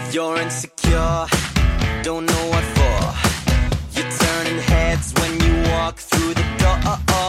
You're insecure, don't know what for. You're turning heads when you walk through the door.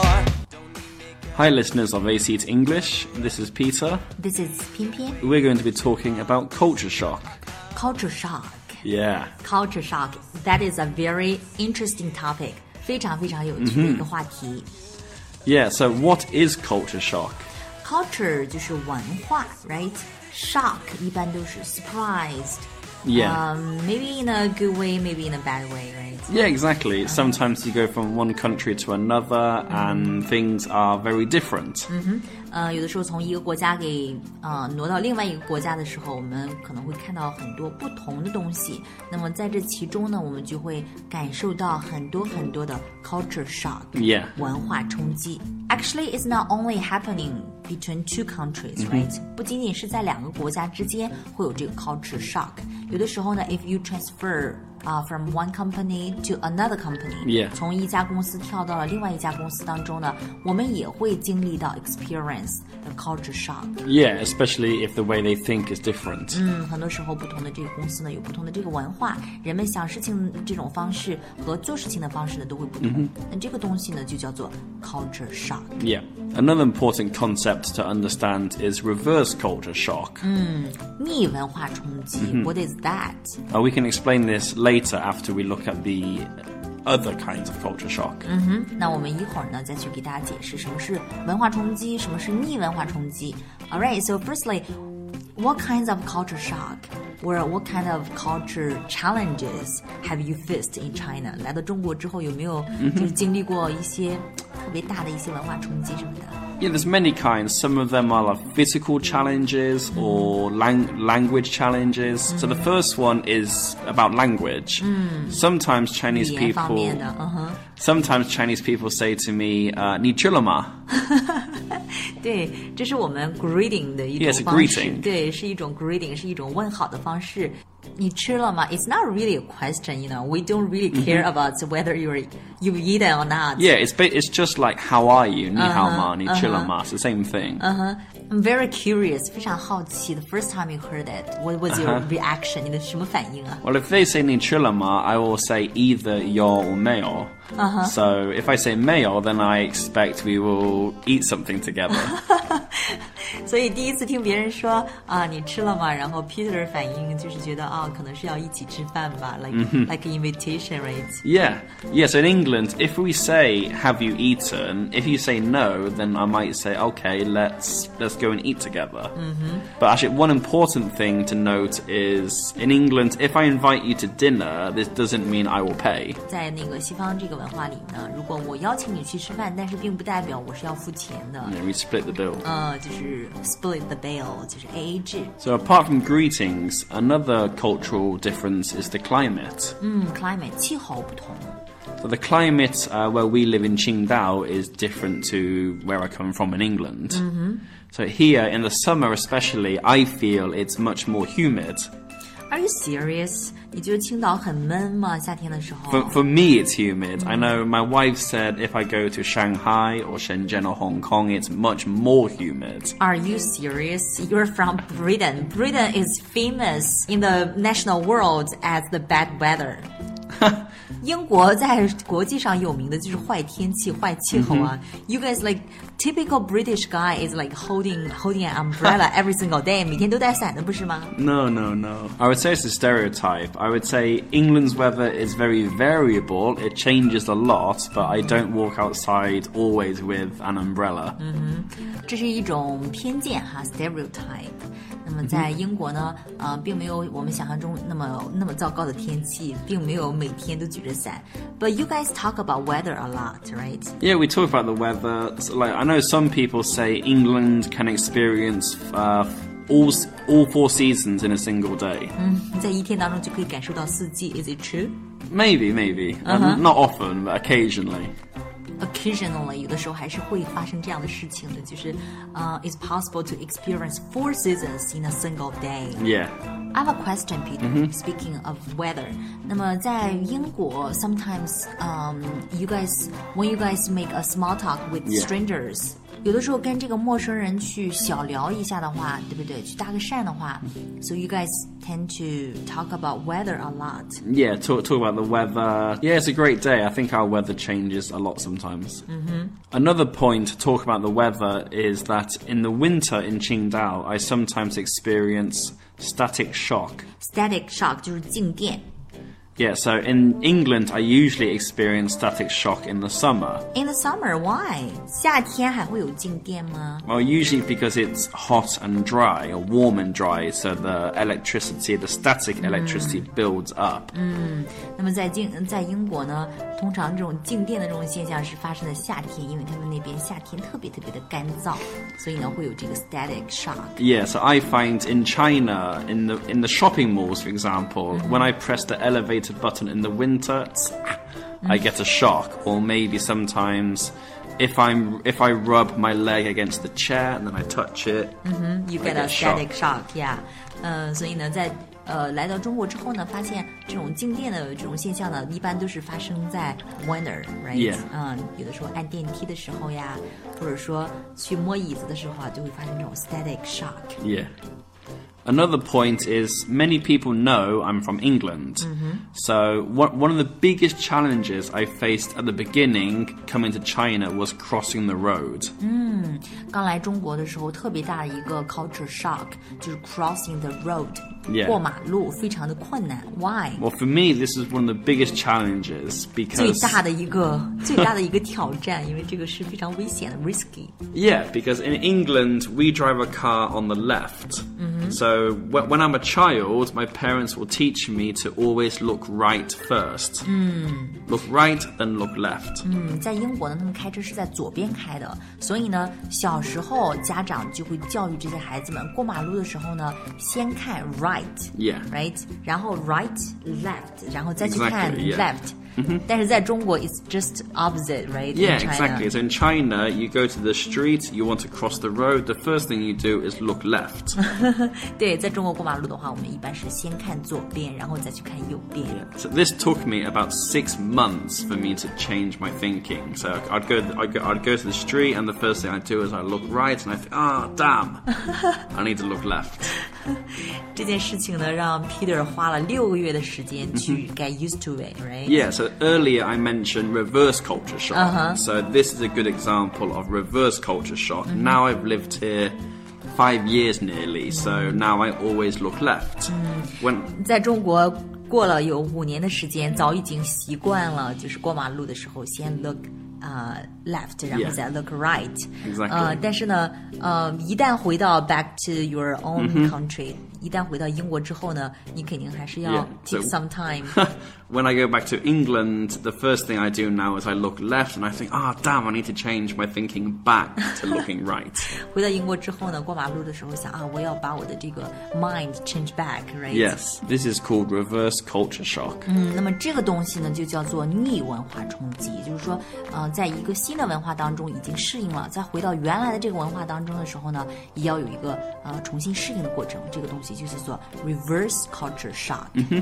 Hi listeners of AC to English, this is Peter. This is 偏偏 We're going to be talking about culture shock. Culture shock. Yeah. Culture shock. That is a very interesting topic. 非常非常有趣的一个话题。 Yeah, so what is culture shock? Culture 就是文化 right? Shock 一般都是 surprised. Yeah. Maybe in a good way, maybe in a bad way, right? Yeah, exactly. Sometimes you go from one country to another and things are very different. 有的时候从一个国家给挪到另外一个国家的时候，我们可能会看到很多不同的东西。那么在这其中呢，我们就会感受到很多很多的 culture shock. Yeah. 文化冲击。Actually, it's not only happening between two countries, right? 不仅仅是在两个国家之间会有这个 culture shock. 有的时候呢 if you transfer from one company to another company, Yeah. 从一家公司跳到了另外一家公司当中呢，我们也会经历到 experience the culture shock. Yeah, especially if the way they think is different. 很多时候不同的这个公司呢有不同的这个文化，人们想事情这种方式和做事情的方式呢都会不同。那这个东西呢就叫做 culture shock. Yeah. Another important concept to understand is reverse culture shock. 逆文化冲击 What is that? We can explain this later after we look at the other kinds of culture shock. 那我们一会儿呢再去给大家解释什么是文化冲击，什么是逆文化冲击。Alright, so firstly, what kinds of culture shock or what kind of culture challenges have you faced in China? 来到中国之后有没有就是经历过一些特别大的一些文化冲击什么的？ Yeah, there's many kinds. Some of them are like physical challenges or language challenges. So the first one is about language. Sometimes Chinese 语言方 people 面的 sometimes Chinese people say to me, 你吃了吗? 对，这是我们 greeting 的一 Yes, 种方式。 greeting. 对，是一种 greeting， 是一种问好的方式。你吃了吗 ？It's not really a question, you know. We don't really care about whether you've eaten or not. Yeah, it's just like how are you? 你好吗?你吃了吗? It's the same thing. I'm very curious， 非常好奇。The first time you heard it, what was your reaction? 你的什么反应啊？ Well, if they say 你吃了吗, I will say either 有 or 没有. So if I say 没有, then I expect we will eat something together. 所以第一次听别人说你吃了吗？然后 Peter 的反应就是觉得可能是要一起吃饭吧 like an invitation, right? Yeah. So in England, if we say, have you eaten? If you say no, then I might say, okay, let's go and eat together. But actually, one important thing to note is, in England, if I invite you to dinner, this doesn't mean I will pay. 在那个西方这个文化里呢，如果我邀请你去吃饭，但是并不代表我是要付钱的。 Yeah, we split the bill. 就是 split the bill， 就是 AA 制。 So apart from greetings, another cultural difference is the climate. Climate 气候不同。 So the climate where we live in Qingdao is different to where I come from in England. So here, in the summer especially, I feel it's much more humid. Are you serious? 你觉得青岛很闷吗？夏天的时候 For me, it's humid. I know my wife said if I go to Shanghai or Shenzhen or Hong Kong, it's much more humid. Are you serious? You're from Britain. Britain is famous in the national world as the bad weather. 英国在国际上有名的就是坏天气、坏气候啊。You guys like typical British guy is like holding an umbrella every single day. 每天都带伞的不是吗？ No. I would say it's a stereotype. I would say England's weather is very variable. It changes a lot, but I don't walk outside always with an umbrella. 这是一种偏见哈 ，stereotype。那么在英国呢，并没有我们想象中那么糟糕的天气，并没有每天都举着伞。But you guys talk about weather a lot, right? Yeah, we talk about the weather. So, like, I know some people say England can experience all 4 seasons in a single day. 在一天当中就可以感受到四季。Is it true? Maybe. Not often, but occasionally. Occasionally, 有的时候还是会发生这样的事情的，就是it's possible to experience 4 seasons in a single day. Yeah. I have a question, Peter. Speaking of weather, 那么在英国 sometimes when you guys make a small talk with Yeah. strangers, 有的时候跟这个陌生人去小聊一下的话，对不对？去搭个讪的话 ，so you guys tend to talk about weather a lot. Yeah, talk about the weather. Yeah, it's a great day. I think our weather changes a lot sometimes. Another point to talk about the weather is that in the winter in Qingdao, I sometimes experience static shock. Static shock 就是静电。 Yeah, so in England, I usually experience static shock in the summer. In the summer, why? 夏天还会有静电吗？ Well, usually because it's hot and dry, or warm and dry, so the electricity, the static electricity builds up. 那么在英国呢，通常这种静电的这种现象是发生在夏天，因为他们那边夏天特别特别的干燥，所以呢会有这个 static shock. Yeah, so I find in China, in the shopping malls, for example, when I press the elevator button in the winter, I get a shock. Or maybe sometimes if I rub my leg against the chair and then I touch it, You get a static shock, yeah. 所以呢，在来到中国之后呢，发现这种静电的这种现象呢，一般都是发生在 winter, right? Yeah. 有的时候按电梯的时候呀，或者说去摸椅子的时候啊，就会发生这种 static shock. Yeah. Another point is many people know I'm from England. So one of the biggest challenges I faced at the beginning coming to China was crossing the road. 刚来中国的时候，特别大的一个 culture shock 就是 crossing the road. Yeah. 过马路非常的困难。Why? Well, for me, this is one of the biggest challenges 最 because 大的一个挑战，因为这个是非常危险的 risky. yeah, because in England we drive a car on the left. So when I'm a child, my parents will teach me to always look right first. Look right, then look left. 在英国呢，他们开车是在左边开的，所以呢，小时候家长就会教育这些孩子们，过马路的时候呢，先看 Yeah. right， 然后 right left， 然后再去看 Exactly, yeah. left。但是在中国 it's just opposite, right? Yeah, In China. exactly. So in China, you go to the street, you want to cross the road, the first thing you do is look left. 对，在中国过马路的话，我们一般是先看左边，然后再去看右边。 So this took me about 6 months for me to change my thinking. So I'd go to the street, and the first thing I do is I look right, and I think, damn, I need to look left. 这件事情呢，让 Peter 花了6个月的时间去 get used to it, right? Yeah, so earlier I mentioned reverse culture shock. So this is a good example of reverse culture shock. Now I've lived here 5 years nearly, so now I always look left. When 在中国过了有5年的时间，早已经习惯了，就是过马路的时候先 look left， 然后再 look right。 Exactly. 但是呢，一旦回到 back to your own country，一旦回到英国之后呢，你肯定还是要 Yeah, take so- some time. when I go back to England, the first thing I do now is I look left and I think, damn, I need to change my thinking back to looking right. 回到英国之后呢，过马路的时候想我要把我的这个 mind change back, right? Yes, this is called reverse culture shock. 那么这个东西呢，就叫做逆文化冲击，也就是说，在一个新的文化当中已经适应了，再回到原来的这个文化当中的时候呢，也要有一个重新适应的过程。这个东西就叫做 reverse culture shock。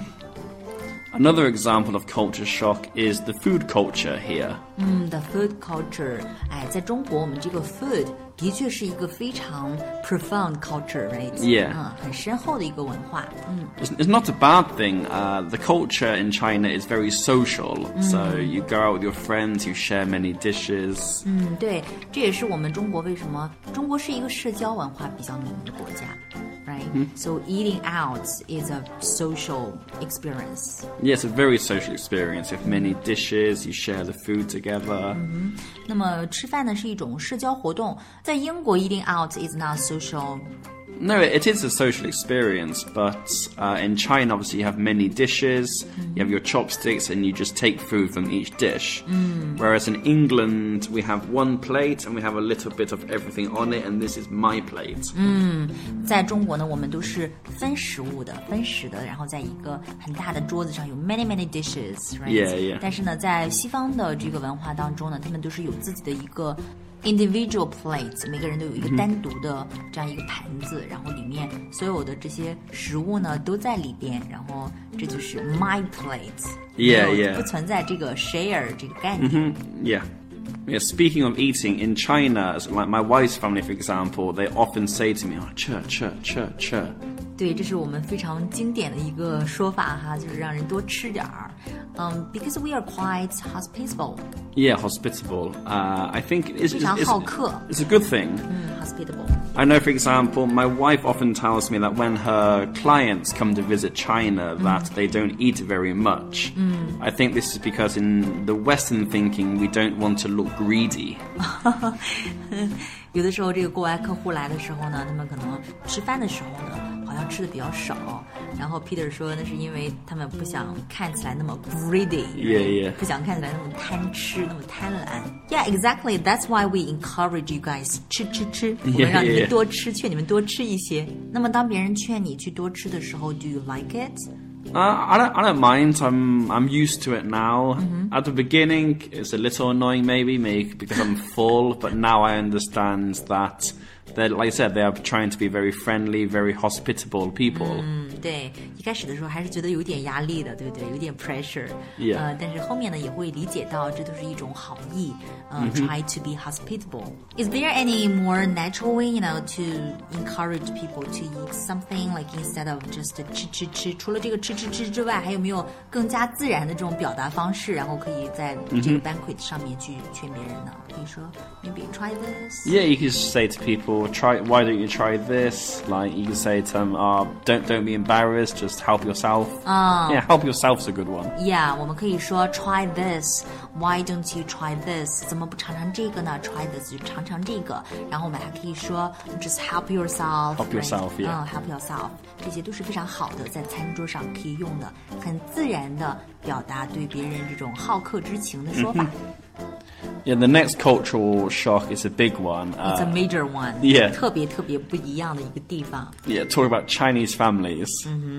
Another example of culture shock is the food culture here. The food culture，在中国我们这个 food 的确是一个非常 profound culture, right? Yeah. 很深厚的一个文化。 It's not a bad thing. The culture in China is very social. So you go out with your friends, you share many dishes. 对，这也是我们中国为什么中国是一个社交文化比较浓的国家。Right? So eating out is a social experience. Yeah, it's a very social experience. You have many dishes, you share the food together. 那么吃饭呢是一种社交活动，在英国 eating out is not social. No, it is a social experience, but in China, obviously, you have many dishes, you have your chopsticks, and you just take food from each dish. Whereas in England, we have one plate, and we have a little bit of everything on it, and this is my plate. 在中国呢，我们都是分食物的，分食的，然后在一个很大的桌子上有 many dishes, right? Yeah, yeah. 但是呢，在西方的这个文化当中呢，他们都是有自己的一个 individual plates， 每个人都有一个单独的这样一个盘子，然后里面所有的这些食物呢都在里边，然后这就是 my plate， Yeah, 没有 yeah. 不存在这个 share 这个概念。 Yeah. Yeah, speaking of eating, in China, like my wife's family, for example, they often say to me, " because we are quite hospitable. Yeah, hospitable. I think it's a good thing. Hospitable. I know, for example, my wife often tells me that when her clients come to visit China, that they don't eat very much. I think this is because in the Western thinking, we don't want to look greedy. 有的时候这个国外客户来的时候呢，他们可能吃饭的时候呢，好像吃的比较少。然后 Peter 说那是因为他们不想看起来那么 greedy， 不想看起来那么贪吃，那么贪婪。Yeah, exactly. That's why we encourage you guys 吃。我们让你们多吃，劝你们多吃一些。那么当别人劝你去多吃的时候 ，Do you like it? I don't mind. I'm used to it now. At the beginning, it's a little annoying, maybe because I'm full. But now I understand that, like I said, they are trying to be very friendly, very hospitable people. 对，一开始的时候还是觉得有点压力的，对不对？有点 pressure。但是后面呢也会理解到这都是一种好意。Try to be hospitable. Is there any more natural way, to encourage people to eat something like instead of just 吃？除了这个吃之外，还有没有更加自然的这种表达方式，然后可以在这个 banquet 上面去劝别人呢？可以说 maybe try this. Yeah, you can say to people, why don't you try this? Like you can say to them, don't be embarrassed, just help yourself. Yeah, help yourself's a good one. Yeah, 我们可以说 try this. Why don't you try this? 怎么不尝尝这个呢 ？Try this 就尝尝这个。然后我们还可以说 just help yourself. Help yourself, yeah. Help yourself. 这些都是非常好的，在餐桌上可以用的，很自然的表达对别人这种好客之情的说法。 Yeah, the next cultural shock is a big one. It's a major one. Yeah. 特别不一样的一个地方。 Yeah, talk about Chinese families.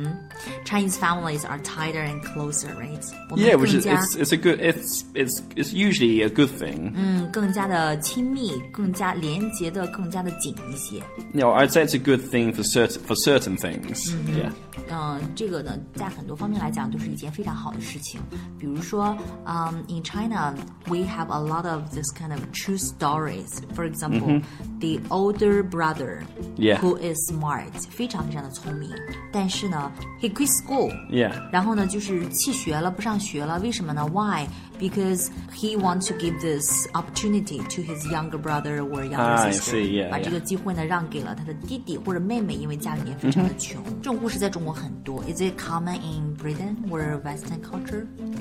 Chinese families are tighter and closer, right? Yeah, which is it's a good it's usually a good thing. 更加的亲密，更加连结的，更加的紧一些。 No, I'd say it's a good thing for certain things. Yeah. 这个呢，在很多方面来讲都是一件非常好的事情。比如说，in China we have a lot of this kind of true stories. For example, the older brother, who is smart, 非常非常的聪明，但是呢 he quit school. Yeah. 然后呢，就是弃学了，不上学了。为什么呢 ？Why? Because he wants to give this opportunity to his younger brother or younger sister. I see, yeah, 把这个机会呢让给了他的弟弟或者妹妹，因为家里面非常的穷。这种故事在中国很多。Is it common in Britain or Western culture?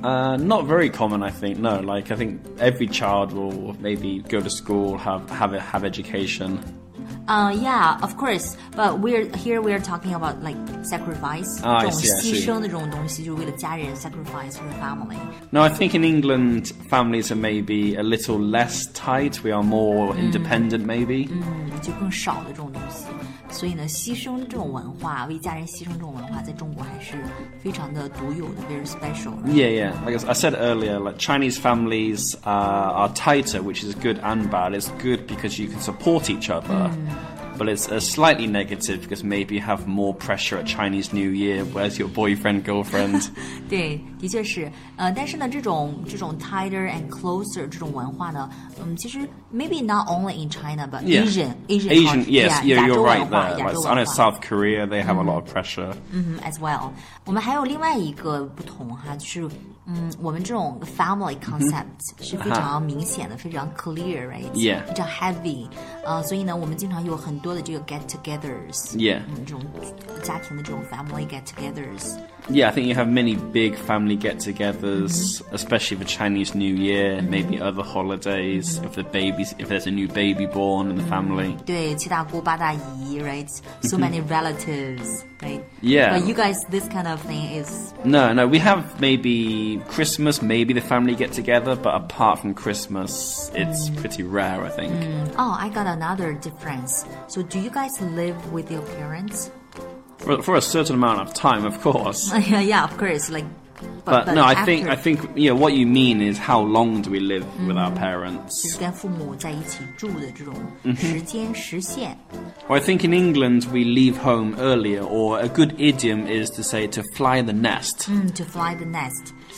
Not very common, I think. No, like I think every child will maybe go to school, have education. Yeah, of course. But we're talking about like sacrifice. 这种牺牲的这种东西，就是为了家人 sacrifice for the family. No, I think in England families are maybe a little less tight. We are more independent, maybe. 就更少的这种东西。所以呢，牺牲这种文化，为家人牺牲这种文化，在中国还是非常的独有的 ，very special. Yeah. Like I said earlier, like Chinese families are tighter, which is good and bad. It's good because you can support each other. But it's slightly negative because maybe you have more pressure at Chinese New Year. Where's your boyfriend, girlfriend? 对，的确是。但是呢，这种 tighter and closer 这种文化呢，其实 maybe not only in China but Asian. Yes, you're right there. 亚洲文化 I know South Korea, they have a lot of pressure. As well. 我们还有另外一个不同哈，就是我们这种 family concept 是非常明显的，非常 clear, right? Yeah. 非常 heavy. 所以呢，我们经常有很多的这个 get-togethers. Yeah. 这种家庭的这种 family get-togethers. Yeah, I think you have many big family get-togethers, especially for Chinese New Year, maybe other holidays, if there's a new baby born in the family. 对，七大姑八大姨 right? So many relatives, right? Yeah. But you guys, this kind of thing is... No, we have maybe Christmas, maybe the family get together, but apart from Christmas, it's pretty rare, I think. Oh, I got another difference. So do you guys live with your parents? For a certain amount of time, of course. Yeah, of course. Like, but no, I think what you mean is how long do we live with our parents? 就是跟父母在一起住的这种时间时限。 Well, I think in England we leave home earlier, or a good idiom is to say to fly the nest. To fly the nest.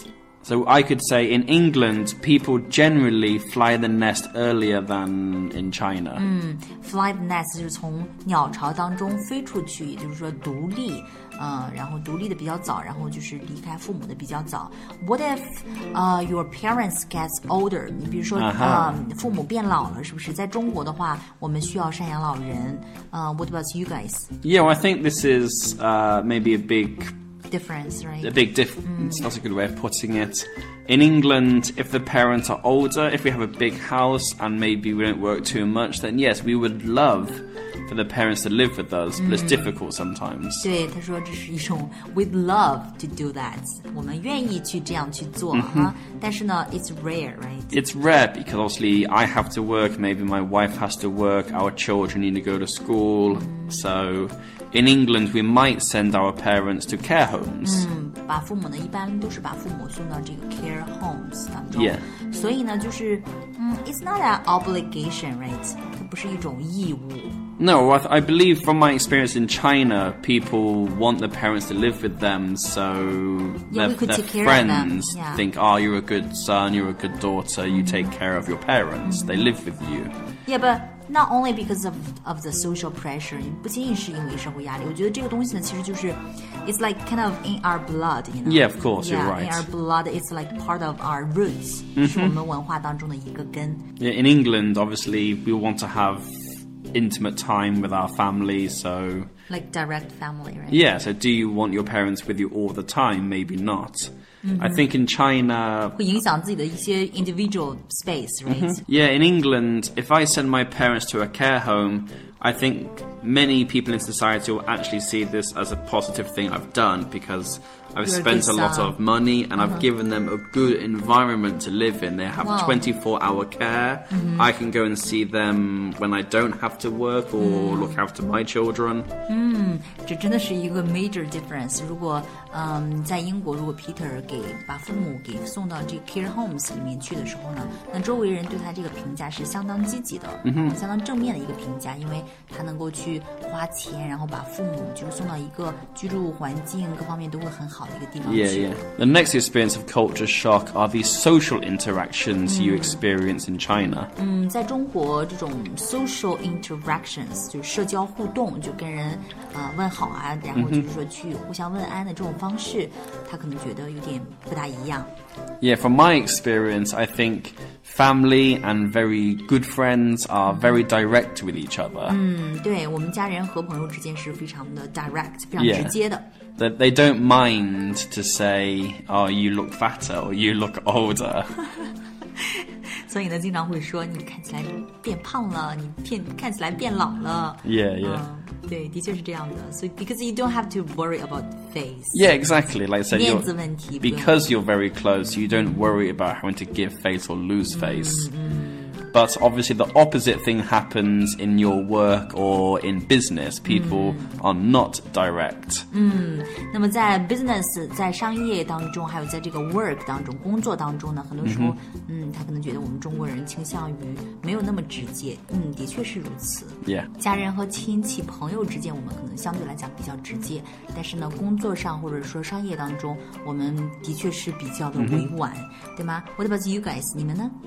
So I could say in England, people generally fly the nest earlier than in China. Fly the nest 就是从鸟巢当中飞出去，也就是说独立，然后独立的比较早，然后就是离开父母的比较早。What if your parents gets older？ 你比如说父母变老了，是不是？在中国的话，我们需要赡养老人。What about you guys? Yeah, well, I think this is maybe a big difference, right? A big difference. That's a good way of putting it. In England, if the parents are older, if we have a big house and maybe we don't work too much, then yes, we would love for the parents to live with us, but it's difficult sometimes. 对，他说这是一种 we'd love to do that. 我们愿意去这样去做哈，但是呢 it's rare, right? It's rare because obviously I have to work, maybe my wife has to work, our children need to go to school. So in England, we might send our parents to care homes. 把父母呢，一般都是把父母送到这个 care homes 当中。 Yeah. 所以呢，就是it's not an obligation, right? 它不是一种义务。 No, I believe from my experience in China, people want the parents to live with them, so Yeah, their we could take care of friends them. Yeah. think, oh, you're a good son, you're a good daughter, you take care of your parents, they live with you. Yeah, but not only because of the social pressure， 不仅仅是因为生活压力。我觉得这个东西呢，其实就是it's like kind of in our blood, you know? Yeah, of course, you're Yeah, right. in our blood, it's like part of our roots， 是我们文化当中的一个根。 Yeah, in England, obviously, we want to have intimate time with our family, so... Like direct family, right? Yeah, so do you want your parents with you all the time? Maybe not. I think in China... 会影响自己的一些 individual space, right? Yeah, in England, if I send my parents to a care home, I think many people in society will actually see this as a positive thing I've done because I've You're a spent good a lot son. of money and I've given them a good environment to live in. They have Wow. 24-hour care. I can go and see them when I don't have to work or look after my children. 这真的是一个 major difference。如果在英国，如果 Peter 把父母给送到这个 care homes 里面去的时候呢，那周围人对他这个评价是相当积极的，相当正面的一个评价，因为他能够去花钱，然后把父母就是送到一个居住环境各方面都会很好的一个地方去。 Yeah. The next experience of culture shock are these social interactions you experience in China. 在中国这种 social interactions 就是社交互动，就跟人问好啊，然后就是说去互相问安的这种方式，他可能觉得有点不大一样。 Yeah, from my experience, I think family and very good friends are very direct with each other. 对，我们家人和朋友之间是非常的 direct， 非常 Yeah. 直接的。 That they don't mind to say, oh, you look fatter or you look older. 所以呢，经常会说你看起来变胖了，你看起来变老了。 Yeah. 对，的确是这样的。所以 because you don't have to worry about face. Yeah, exactly. Like I said, 面子问题， because you're very close, you don't worry about having to give face or lose face. But obviously the opposite thing happens in your work or in business. People are not direct. 那么在 business 在商业当中，还有在这个 work 当中工作当中呢，很多时候他可能觉得我们中国人倾向于没有那么直接。的确是如此。 Yeah. 家人和亲戚朋友之间，我们可能相对来讲比较直接，但是呢，工作上或者说商业当中，我们的确是比较的委婉，对吗？ What about you guys？ 你们呢？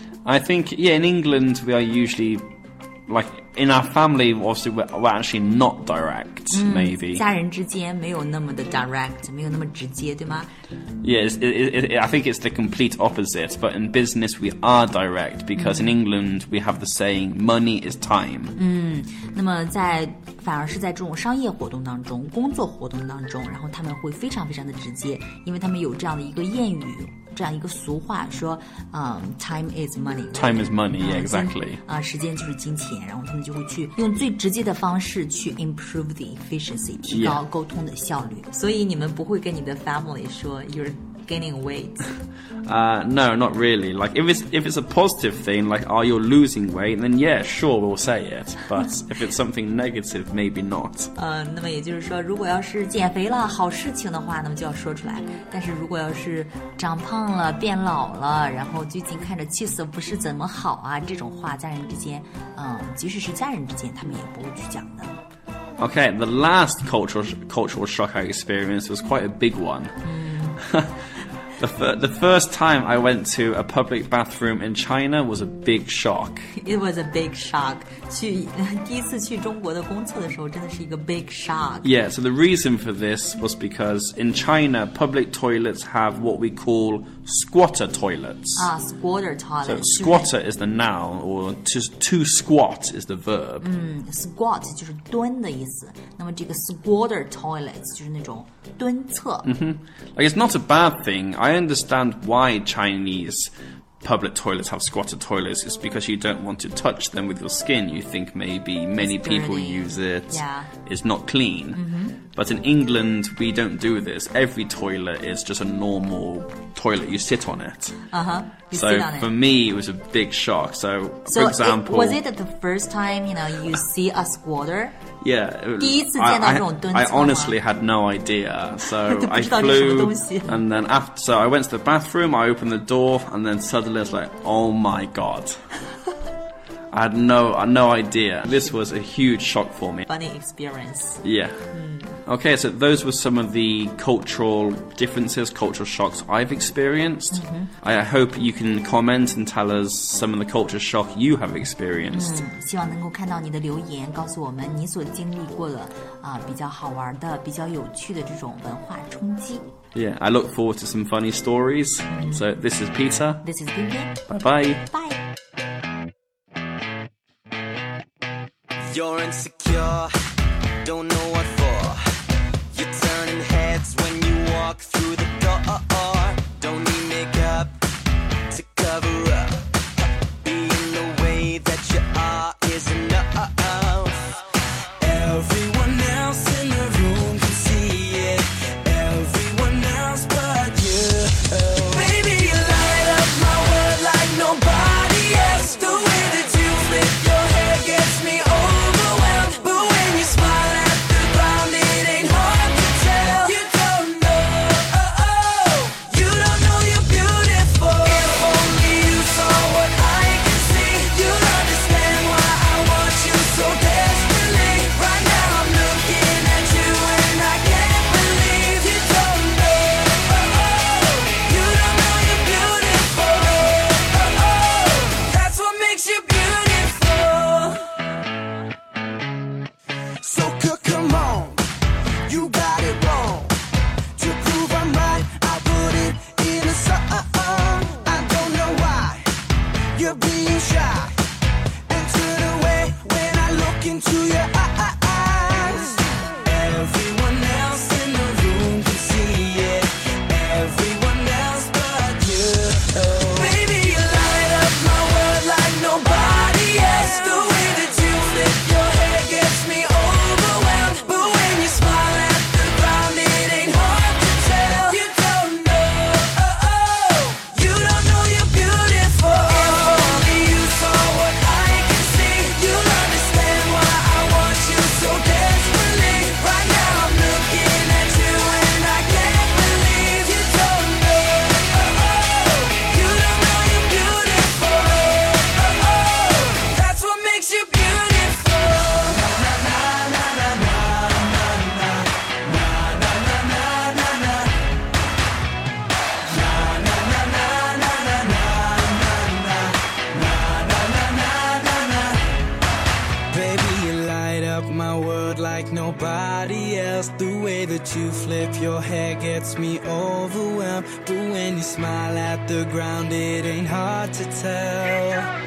I think, yeah, in England we are usually, like, in our family, obviously we're actually not direct, maybe. 家人之间没有那么的 direct， 没有那么直接，对吗？ Yeah, I think it's the complete opposite, but in business we are direct, because in England we have the saying, money is time. 那么反而是在这种商业活动当中、工作活动当中，然后他们会非常非常的直接，因为他们有这样的一个谚语，这样一个俗话说，time is money。 Time is money, yeah, exactly. 时间就是金钱，然后他们就会去用最直接的方式去 improve the efficiency， 提高沟通的效率。所以你们不会跟你的 family 说 you're gaining weight。 No, not really. Like, if it's a positive thing, like, oh, you're losing weight, then yeah, sure, we'll say it. But if it's something negative, maybe not. 那么也就是说，如果要是减肥了，好事情的话，那么就要说出来。但是如果要是长胖了、变老了，然后最近看着气色不是怎么好啊，这种话，家人之间，即使是家人之间，他们也不会去讲的。 Okay, the last cultural shock I experienced was quite a big one. The first time I went to a public bathroom in China was a big shock. It was a big shock. 第一次去中国的公厕的时候，真的是一个 big shock. Yeah, so the reason for this was because in China, public toilets have what we call squatter toilets. Squatter toilet. So squatter is the noun, or to squat is the verb. Squat 就是蹲的意思。那么这个 squatter toilets 就是那种蹲厕。 Like, it's not a bad thing. I understand why Chinese public toilets have squatter toilets. It's because you don't want to touch them with your skin. You think maybe many people use it. Yeah. It's not clean. But in England, we don't do this. Every toilet is just a normal toilet. You sit on it. You So sit on it. for me, it was a big shock. So, for example... was it the first time, you see a squatter? Yeah. 第一次见到这种蹲厕吗？ I honestly had no idea. So 都不 I 知道这是什么 flew, 东西。 and then so I went to the bathroom, I opened the door, and then suddenly it's like, oh my god. I had no idea. This was a huge shock for me. Funny experience. Yeah. Okay, so those were some of the cultural differences, cultural shocks I've experienced. I hope you can comment and tell us some of the culture shock you have experienced. 希望能够看到你的留言，告诉我们你所经历过的比较好玩的、比较有趣的这种文化冲击。 Yeah, I look forward to some funny stories. So this is Peter. This is Pinky. Bye-bye. Bye. You're insecure, don't know what for. You're turning heads when you walk through the door. Don't need makeup to cover up. Being the way that you are is enough. Everyone else in the room can see it. Everyone else but you. Baby, you light up my world like nobody else. The way that you flip your hair gets me overwhelmed. But when you smile at the ground, it ain't hard to tell. You don't know, you don't know you're beautiful. If only you saw what I can see, you'd understand why I want you so desperately. Right now I'm looking at you and I can't believe you don't know, you don't know you're beautiful. That's what makes you beautiful. So come on, you got it wrong. To prove I'm right, I put it in a song. I don't know why you're being shy and turn away when I look into your eyes. Everyone else in the room can see it. Everyone else but you. Baby, you light up my world like nobody else. The way that you flip your hair gets me overwhelmed. But when you smile at the ground, it ain't hard to tell. You don't know, you don't know you're beautiful. If only you saw what I can see, you'll understand why I want you so desperately. Right now I'm looking at you and I can't believe you don't know, you don't know you're beautiful. That's what makes you beautiful. Baby, you light up my world like nobody else. The way that you flip your hair gets me overwhelmed. But when you smile at the ground, it ain't hard to tell.